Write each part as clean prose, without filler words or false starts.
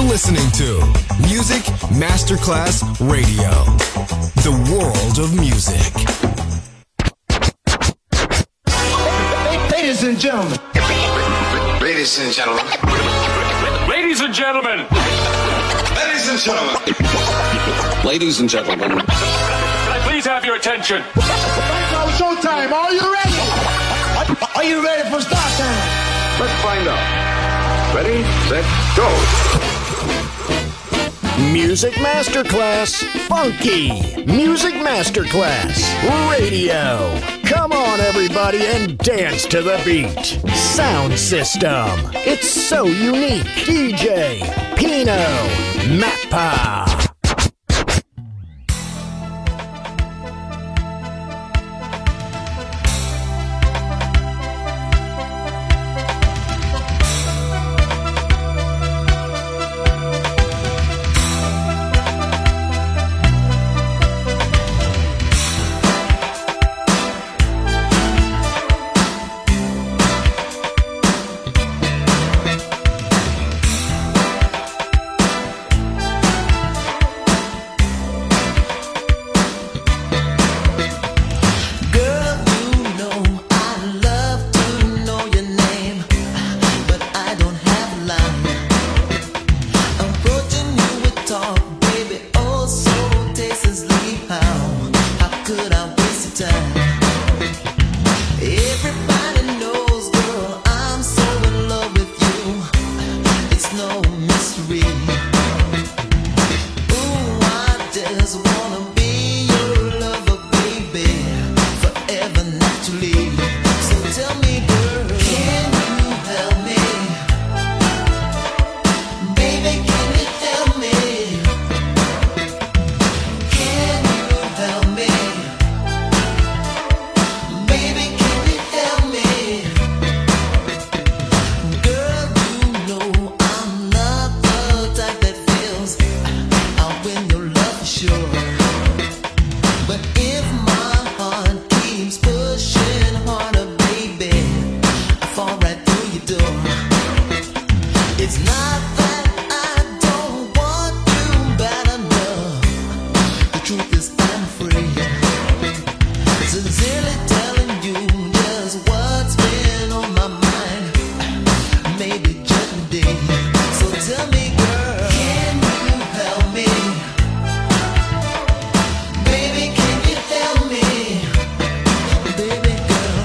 listening to Music Masterclass Radio, the world of music. Ladies and gentlemen. Ladies and gentlemen. Ladies and gentlemen. Ladies and gentlemen. Ladies and gentlemen. Can I please have your attention? Right now, showtime. Are you ready? Are you ready for start time? Let's find out. Ready, set, go. Music Masterclass Funky. Music Masterclass Radio. Come on, everybody, and dance to the beat. Sound system. It's so unique. DJ Pino Mappa.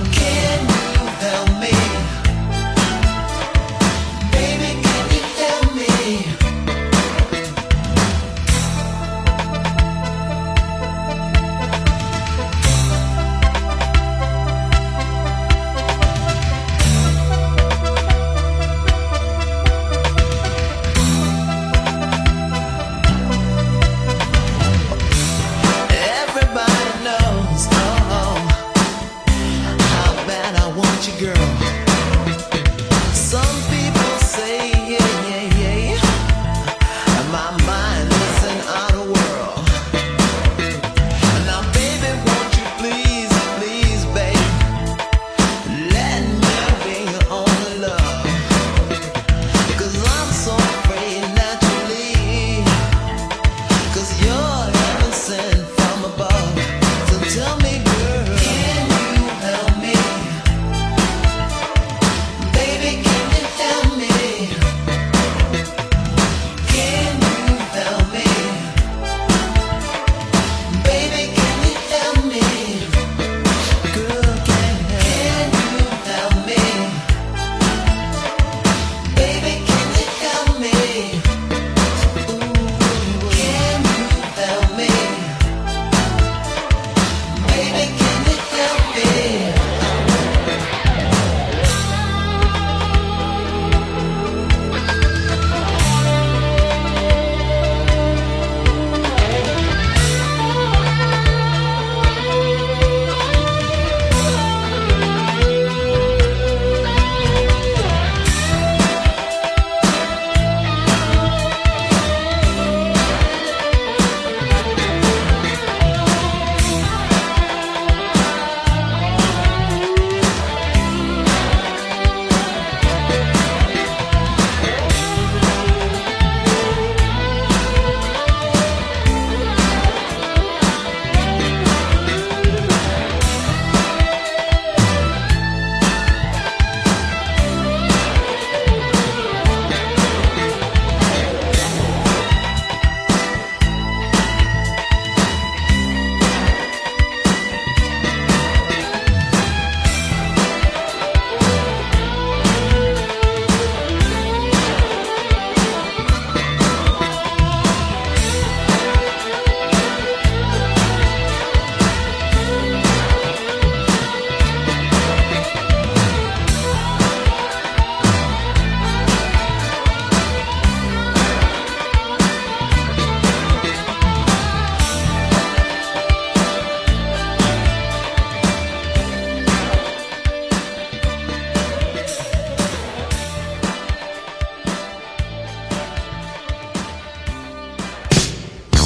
Baby, can you help me?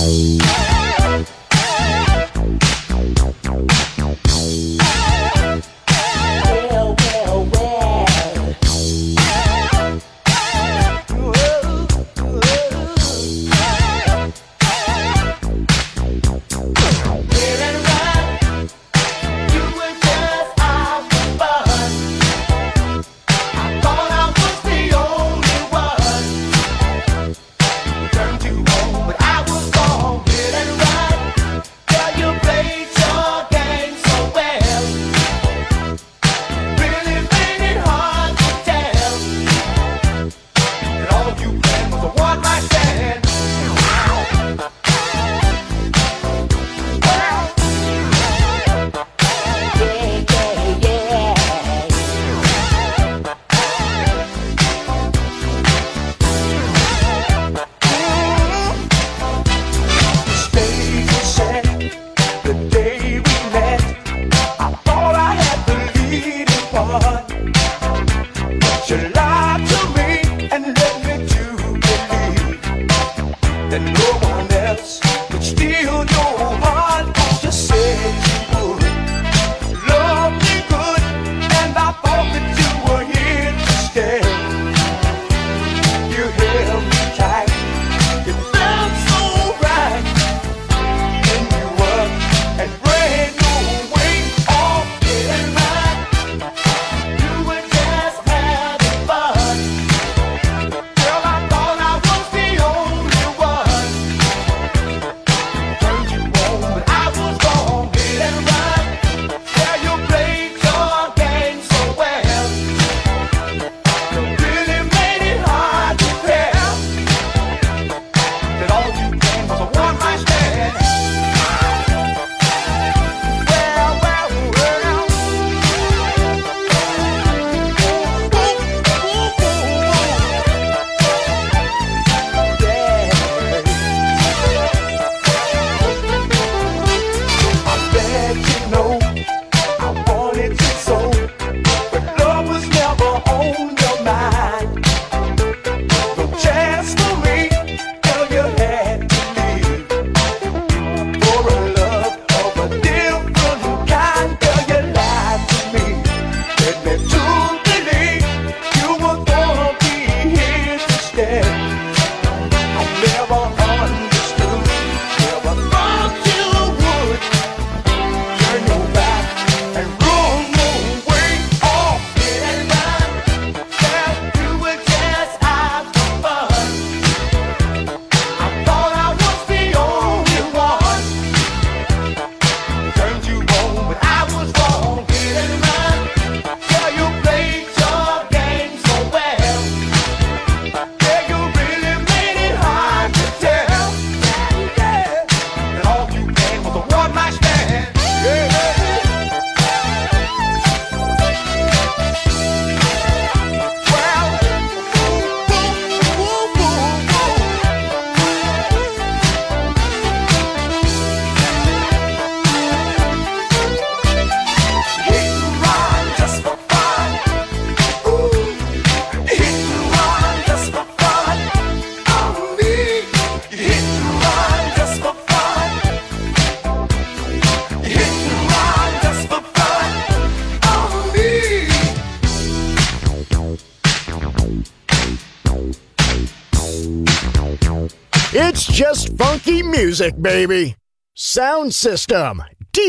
It's just funky music, baby. Sound System,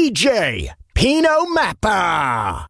DJ Pino Mappa.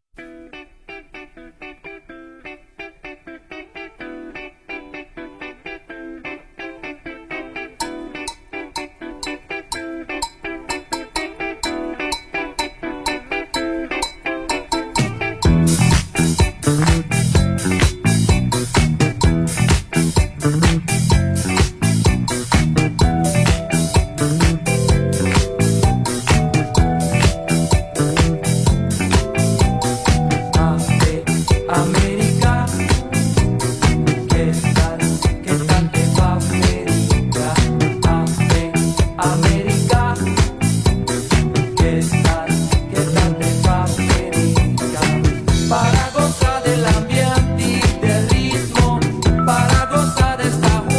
Para gozar del ambiente y del ritmo, para gozar esta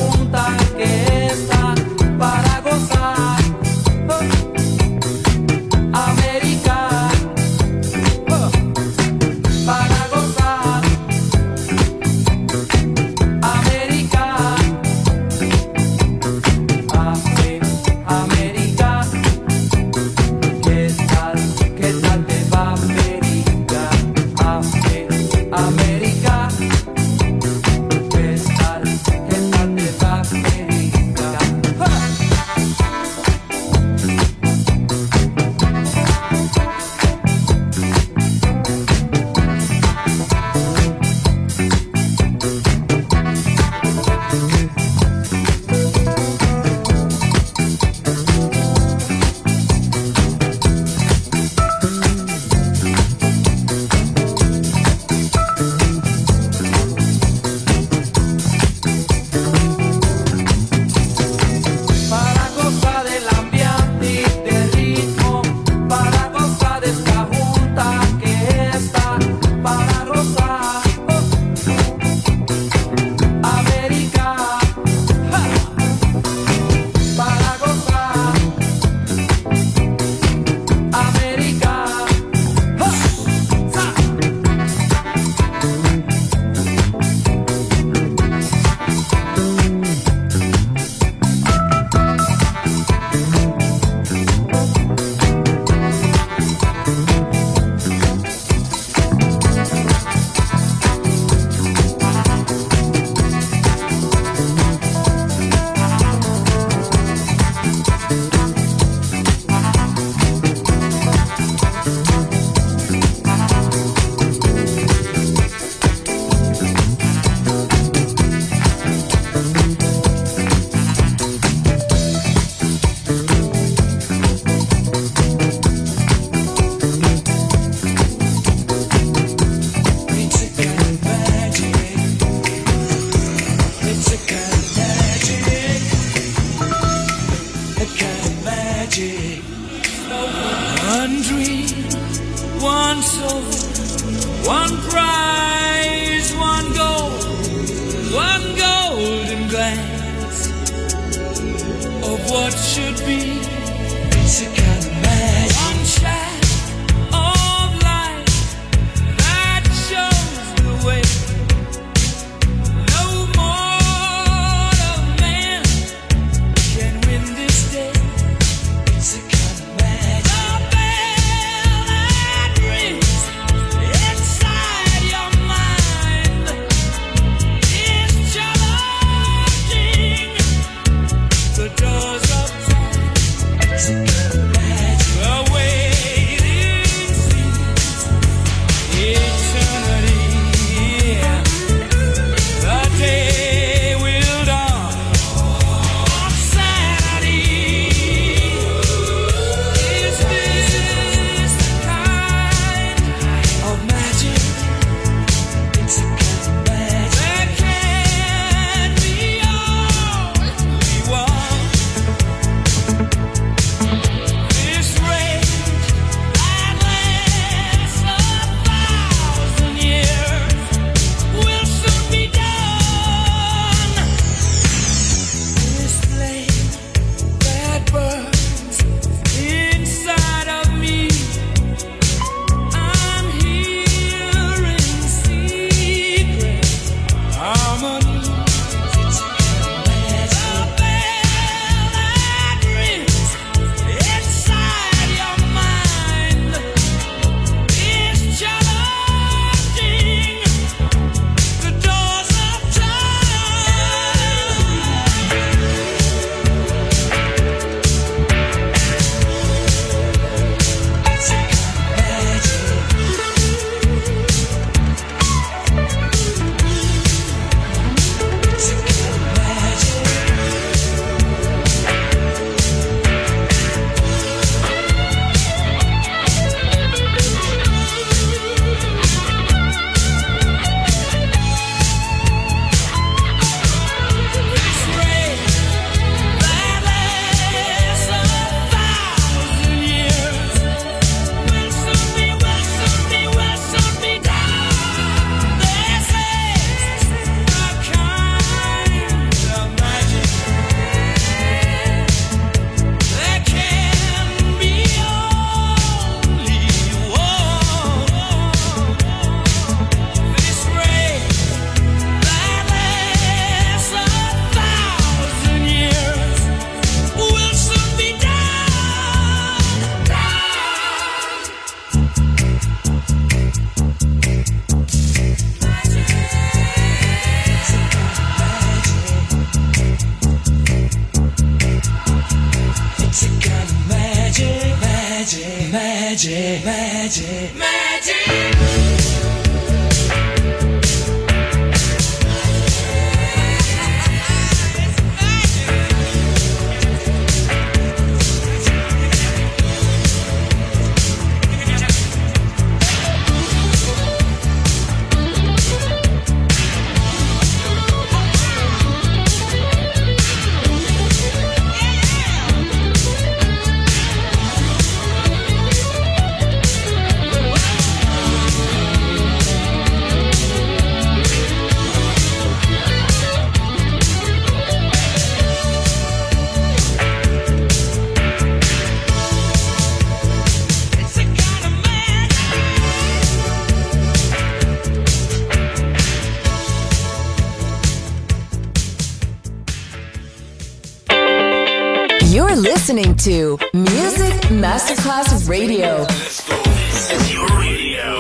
You're listening to Music Masterclass Radio. Let's go. This is your radio.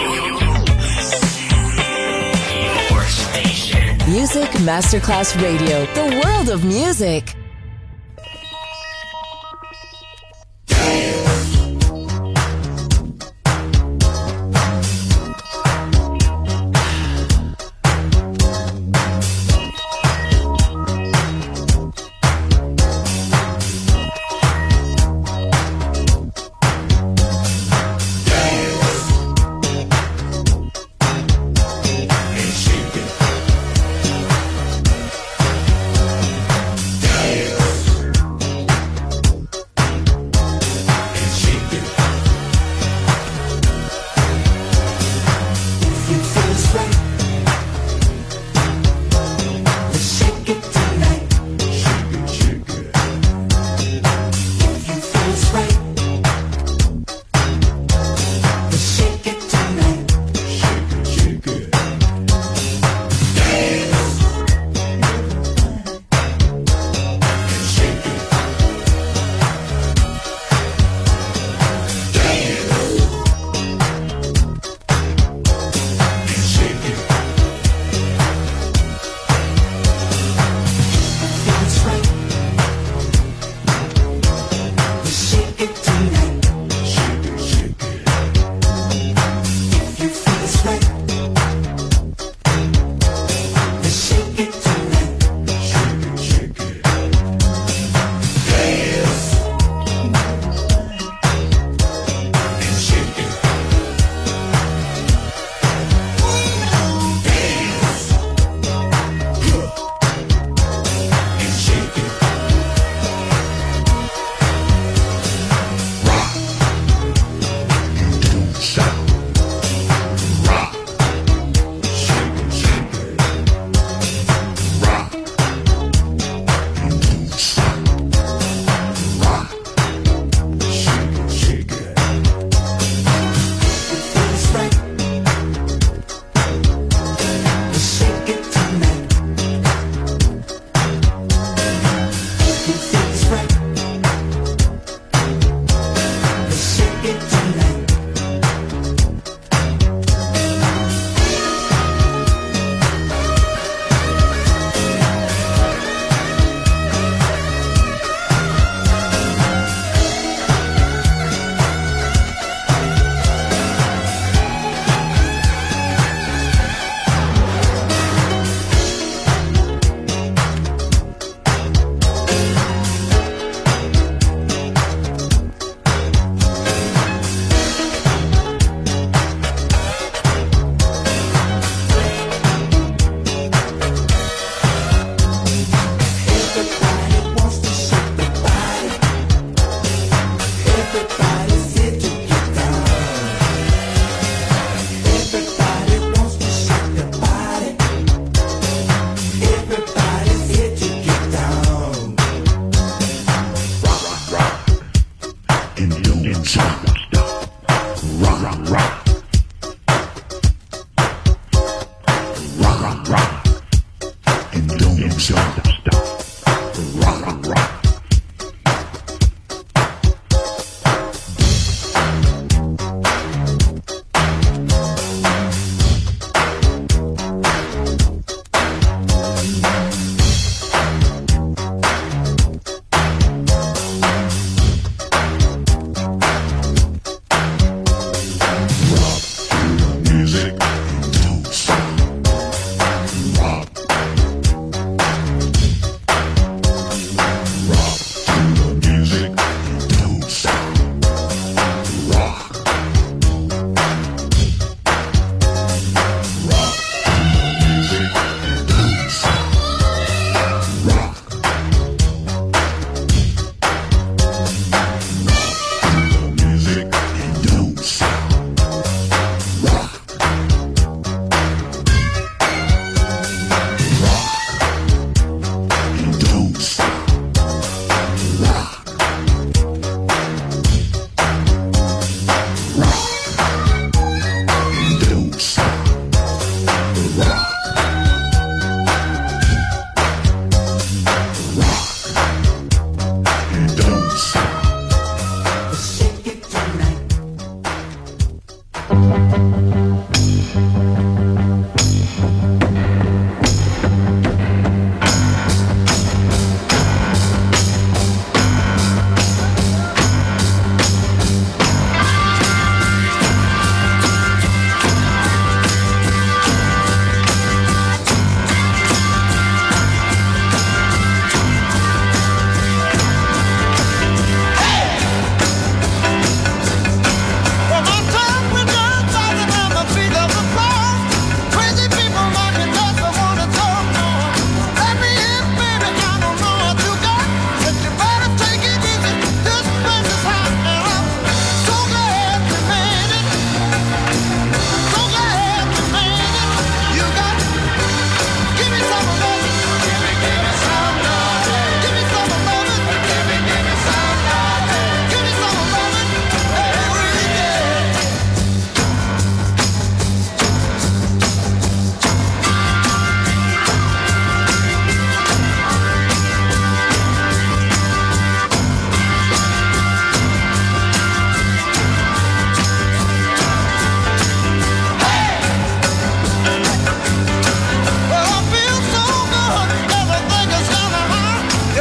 Your station. Music Masterclass Radio. The world of music. Shake it.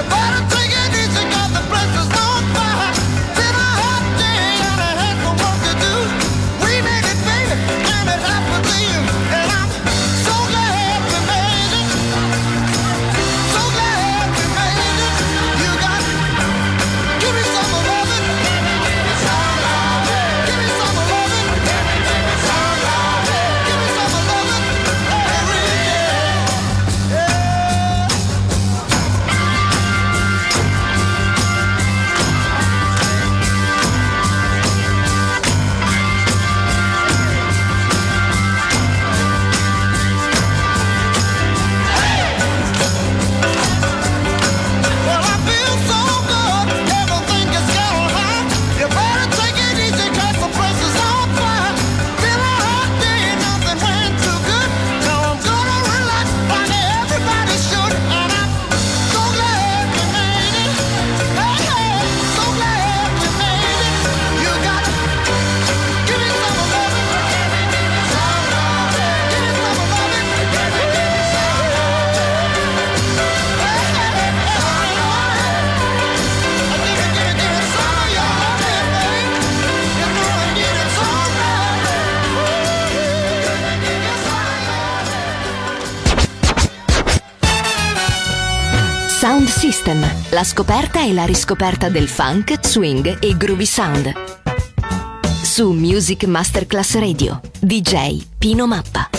Sound System, la scoperta e la riscoperta del funk, swing e groovy sound. Su Music Masterclass Radio, DJ Pino Mappa.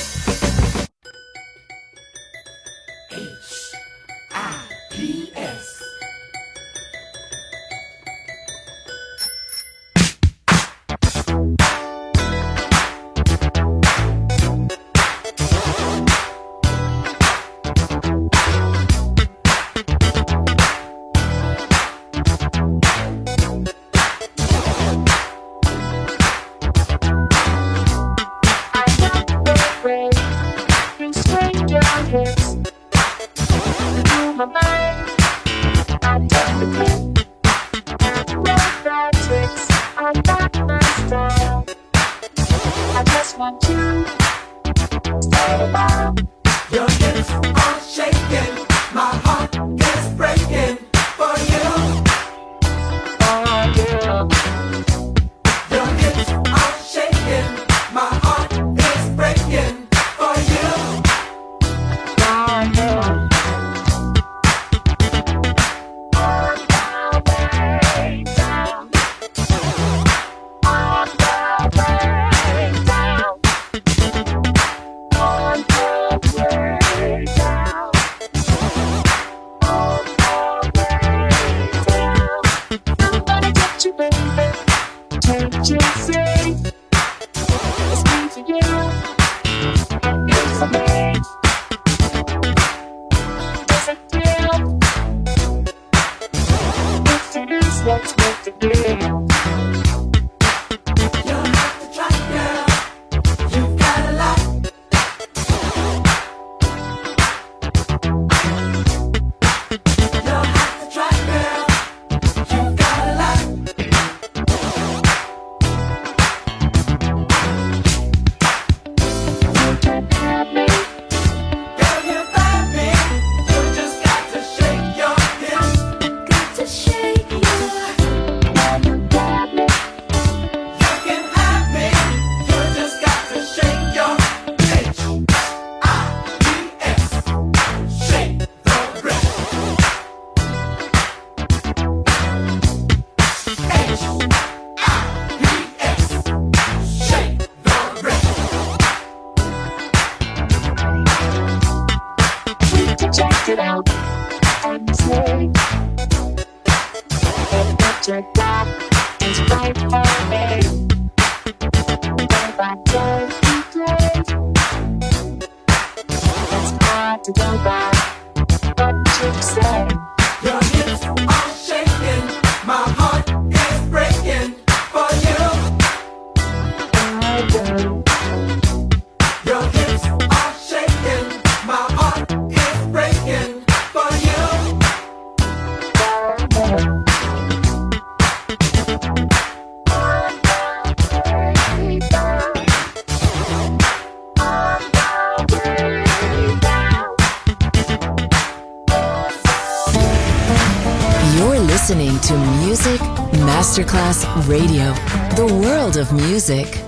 listening to Music Masterclass Radio, the world of music.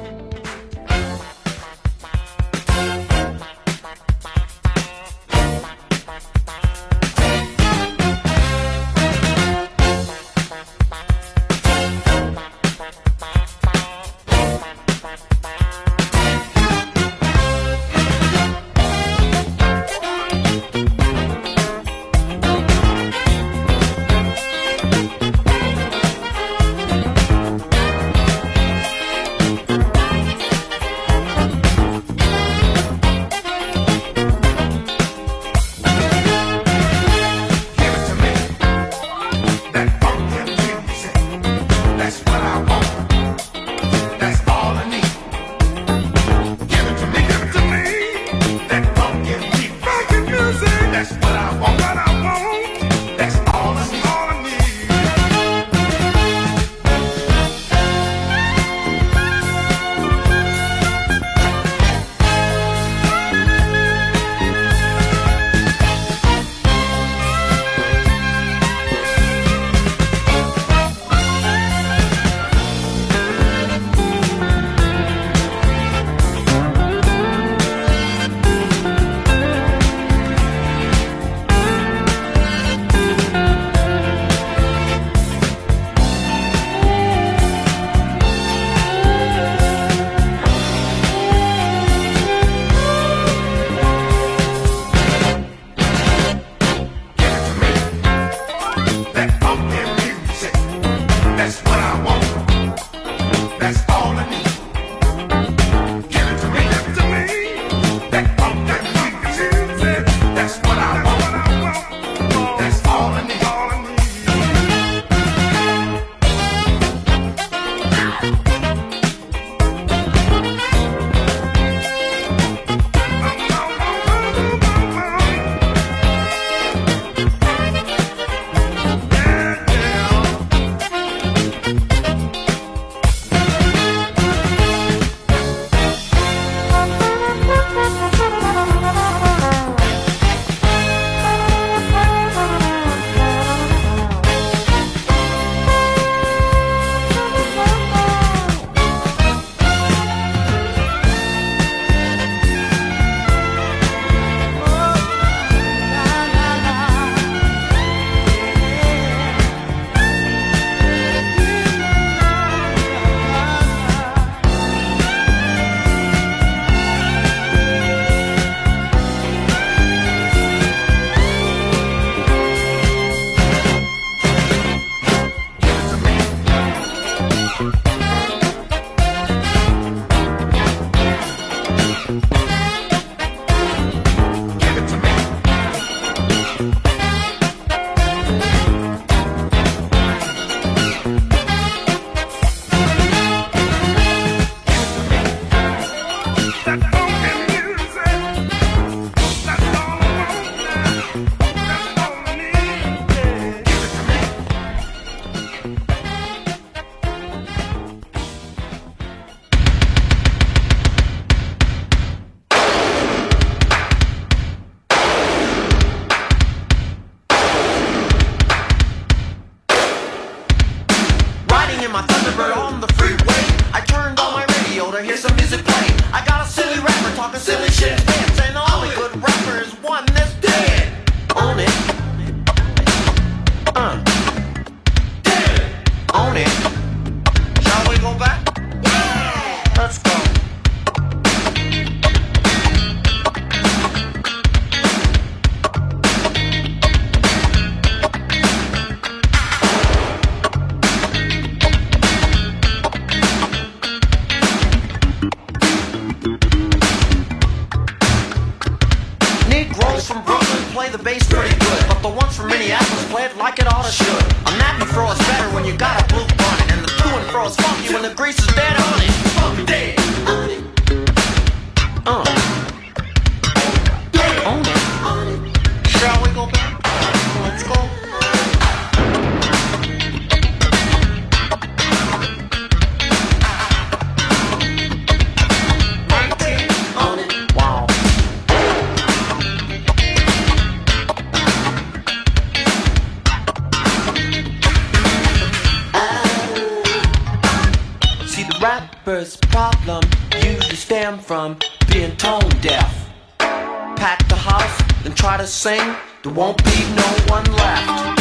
Rappers' problem usually stem from being tone deaf. Pack the house, then try to sing, there won't be no one left.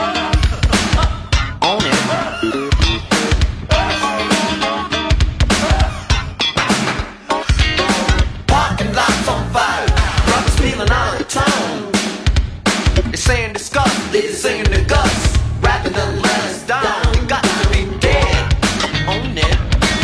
Own it. Parking lots on fire, brothers feeling out of town. They're saying disgust, they're singing the guts, rather than let us down. You got to be dead. Own it.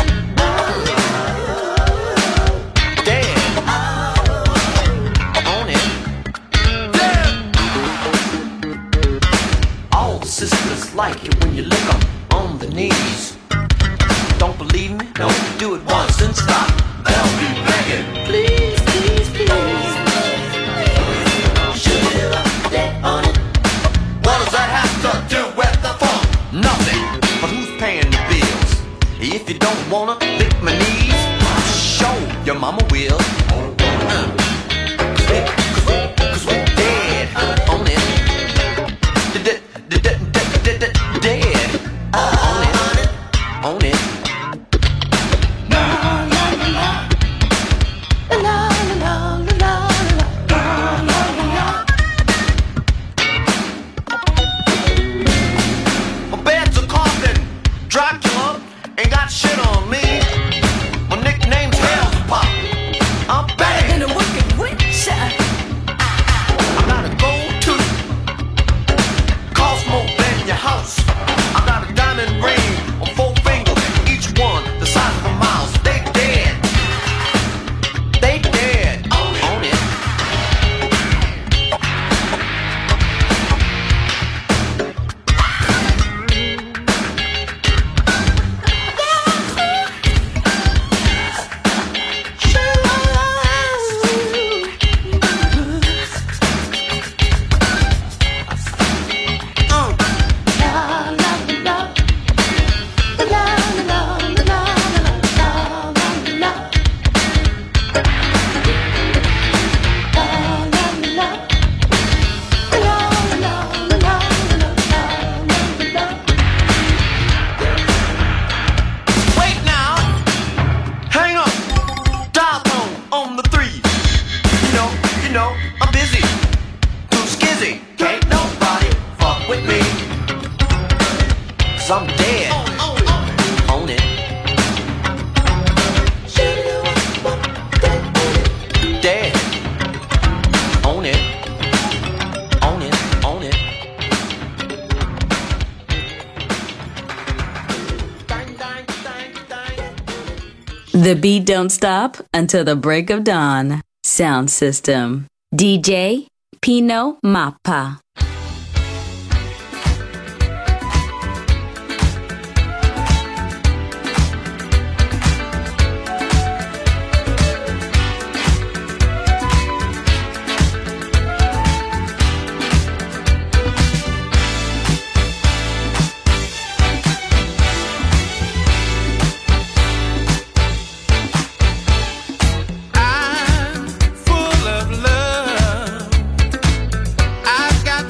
Sisters like it when you lick them on the knees. Don't believe me? No, do it once and stop. They'll be begging. Please, please, please. Should it up there on it? What does that have to do with the funk? Nothing. But who's paying the bills? If you don't wanna lick my knees, show your mama will. Cause we're dead on it. Dead. Own it. My bed's a coffin. Dracula ain't got shit on me. My nickname's Hell's Pop. I'm back in the wicked witch. I got a gold tooth. Cost more than your house. I got a diamond ring on 4 fingers, each one the size of a mouse. They dead. They dead. Own it. I'm dead. Own it. Dead. Own it. Own it. Own it. The beat don't stop until the break of dawn. Sound system. DJ Pino Mappa. I'm full of love. I've got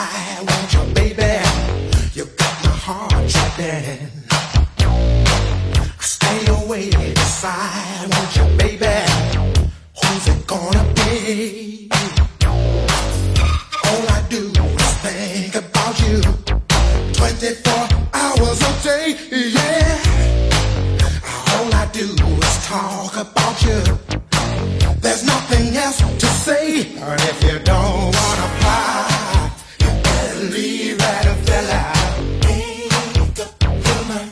side, won't you, baby? You got my heart tripping. Stay away, decide, won't you, baby? Who's it gonna be? All I do is think about you 24 hours a day, yeah. All I do is talk about you. There's nothing else to say. And if you don't wanna fly, you better leave that fella. Make up your mind.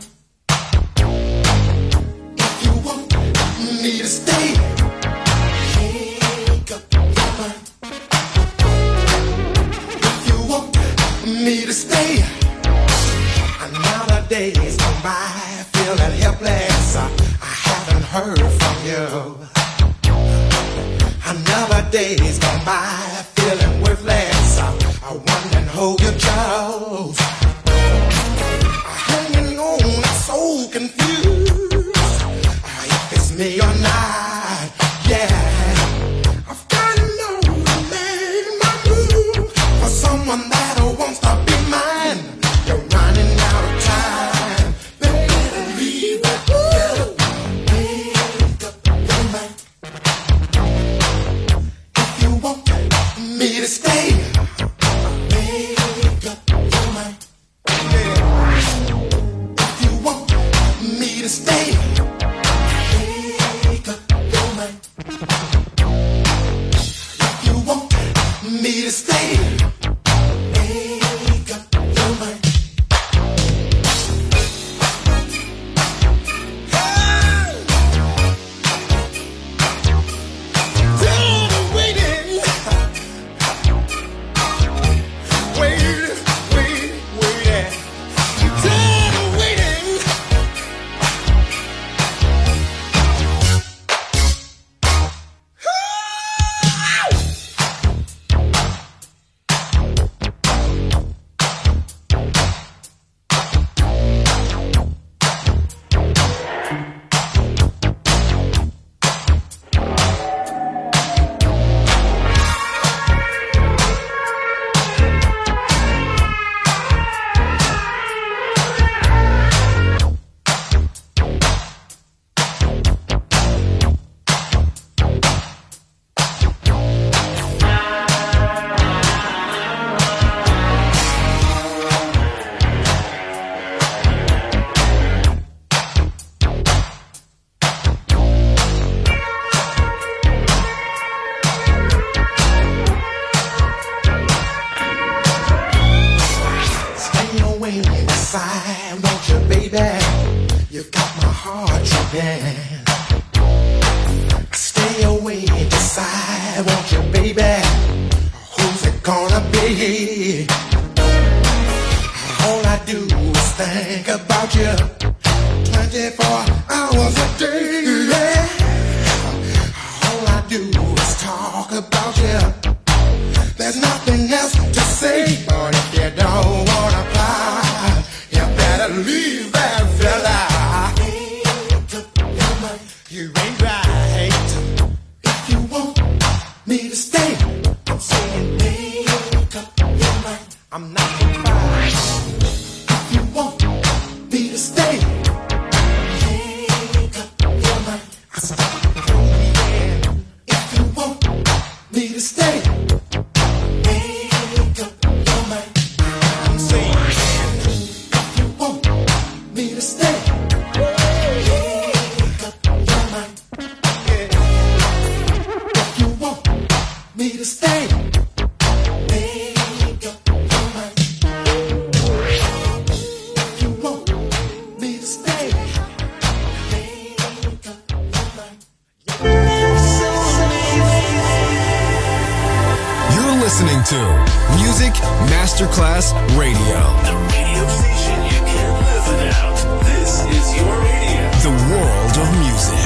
If you want me to stay, make up your mind. If you want me to stay, another day's gone by, feeling helpless. I haven't heard from you. Another day's gone by, feeling worthless. I wonder who you chose. Hanging on, I'm so confused. If it's me or not, yeah. I've got to know to make my move for someone that wants to be mine. You're running out of time. Better leave that fellow. Make up your mind. Me to stay, make up your mind. If you want me to stay, make up your mind. If you want me to stay, make up your mind. Listening to Music Masterclass Radio. The radio station you can't live without. This is your radio. The world of music.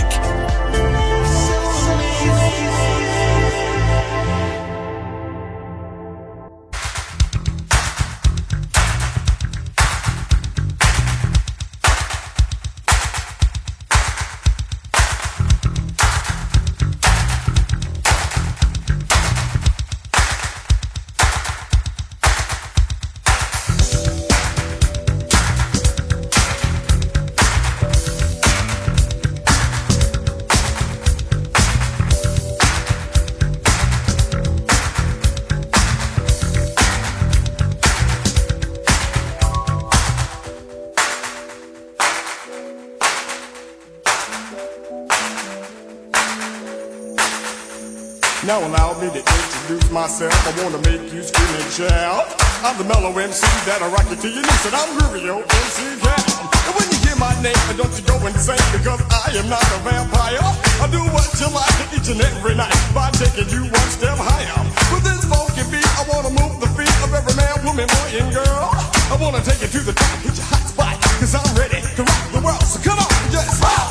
Now allow me to introduce myself. I wanna make you scream and shout. I'm the mellow MC that'll rock you till your knees, and I'm Rubio MC Cal. And when you hear my name, don't you go insane, because I am not a vampire. I do what you like each and every night by taking you one step higher. With this funky beat, I wanna move the feet of every man, woman, boy, and girl. I wanna take you to the top, hit your hot spot, cause I'm ready to rock the world. So come on, just rock.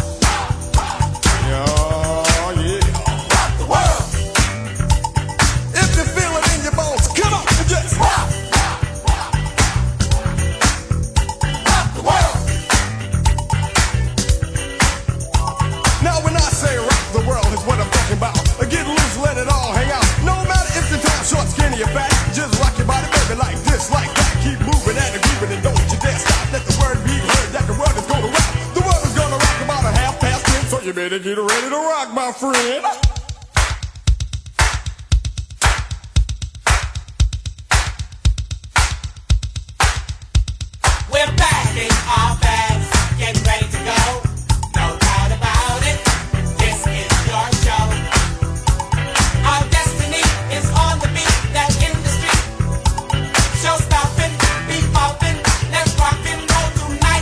Oh, yeah. Rock the world. If you feel it in your bones, come on, just rock. Rock the world. Now when I say rock the world is what I'm talking about. Get loose, let it all hang out. No matter if the time short, skinny or fat, just rock your body, baby, like this, like that. Keep moving and grooving and don't you dare stop. Let the word be heard that the world is gonna rock. The world is gonna rock about a 10:30, so you better get ready to rock, my friend. We're packing our bags, getting ready to go. No doubt about it, this is your show. Our destiny is on the beat, that in the street. Show stopping, beat popping, let's rock and roll tonight.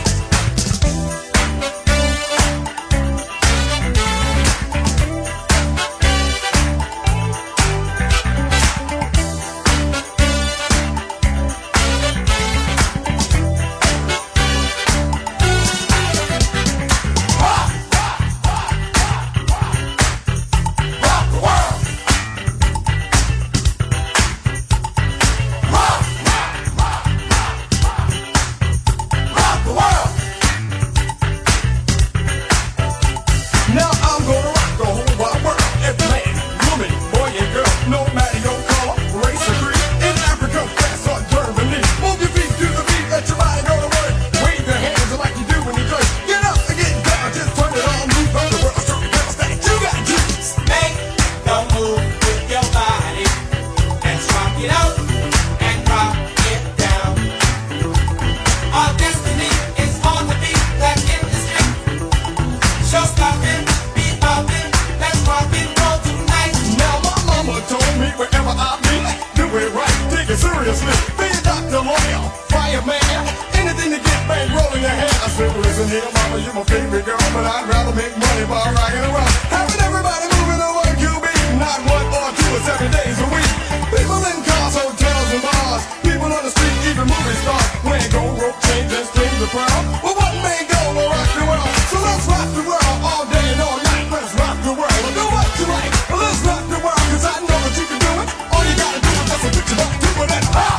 Now I'm gonna rock the whole wide world. Every man, woman, boy and girl, no matter your color, race or creed. In Africa, France or Germany, move your feet to the beat, let your body go to work. Wave your hands like you do when you dress. Get up and get down, just turn it on, move on the world, show me that you got juice. Make the move with your body. Let's rock it out and rock it down. Our destiny is on the beat, that in the street. Show stopping, beat popping, let's rock and roll tonight. Now my mama told me wherever I be, do it right, take it seriously. Be a doctor, lawyer, fireman, anything to get bang rolling your hand. I said, listen here, mama, you're my favorite girl, but I'd rather make money by rocking around. Having everybody moving on one QB, not 1 or 2 or 7 days a week. People in cars, hotels and bars, people on the street, even movie stars, wearing gold rope chains and strings of pearl. Well, one man go will rock the world, so let's rock the world all day and all night. Let's rock the world, do what you like. Well, let's rock the world, cause I know that you can do it. All you gotta do is just put your butt to it and rock.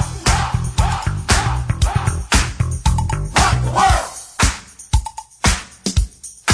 Rock the world.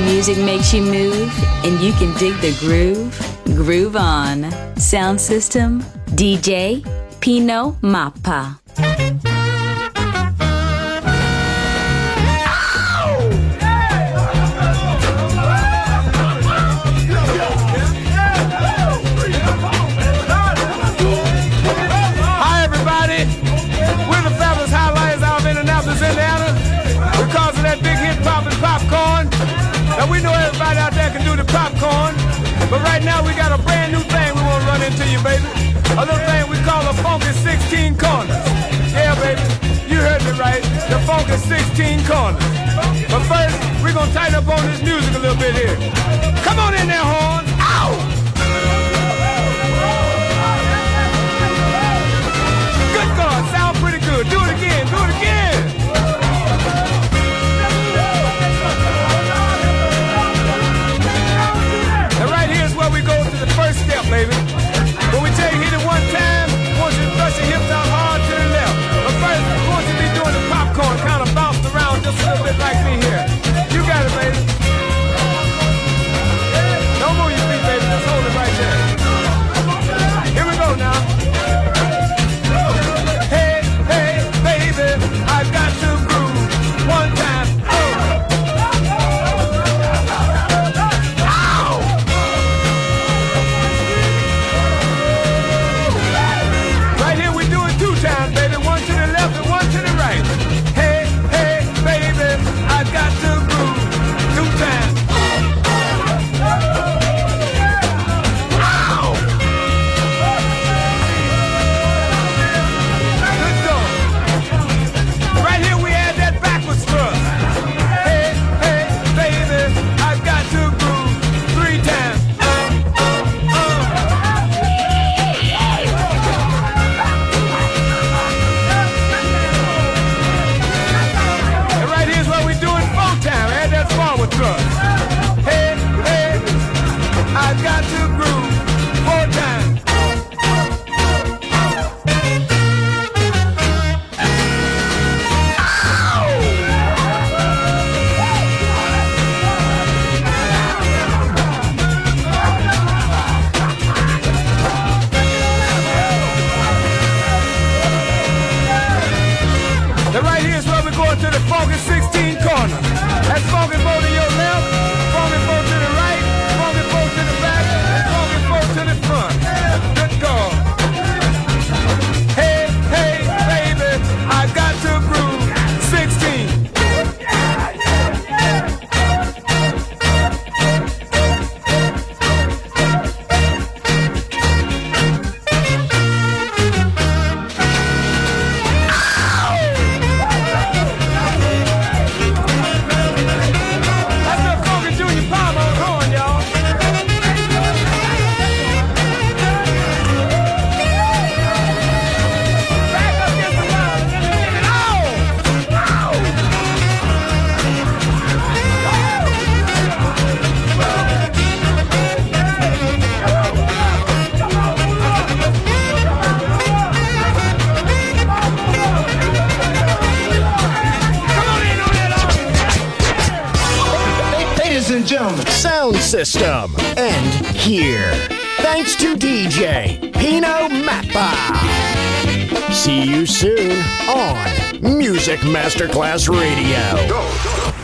music makes you move and you can dig the groove, groove on. Sound system, DJ Pino Mappa. Now we know everybody out there can do the popcorn, but right now we got a brand new thing we want to run into you, baby. A little thing we call a funky 16 corners. Yeah, baby, you heard me right. The funky 16 corners. But first, we're gonna tighten up on this music a little bit here. Come on in there, horns. Ow! Good God, sound pretty good. Do it again, do it again. We go to the first step, baby. When we tell you hit it one time, I want you to thrust your hips out hard to the left. But first, I want you to be doing the popcorn, kind of bouncing around just a little bit like me here. You got it, baby. Don't move your feet, baby. Just hold it right there. Here we go now. Hey, hey, baby, I got to groove one time. Sound system. End here. Thanks to DJ Pino Mappa. See you soon on Music Masterclass Radio. Go.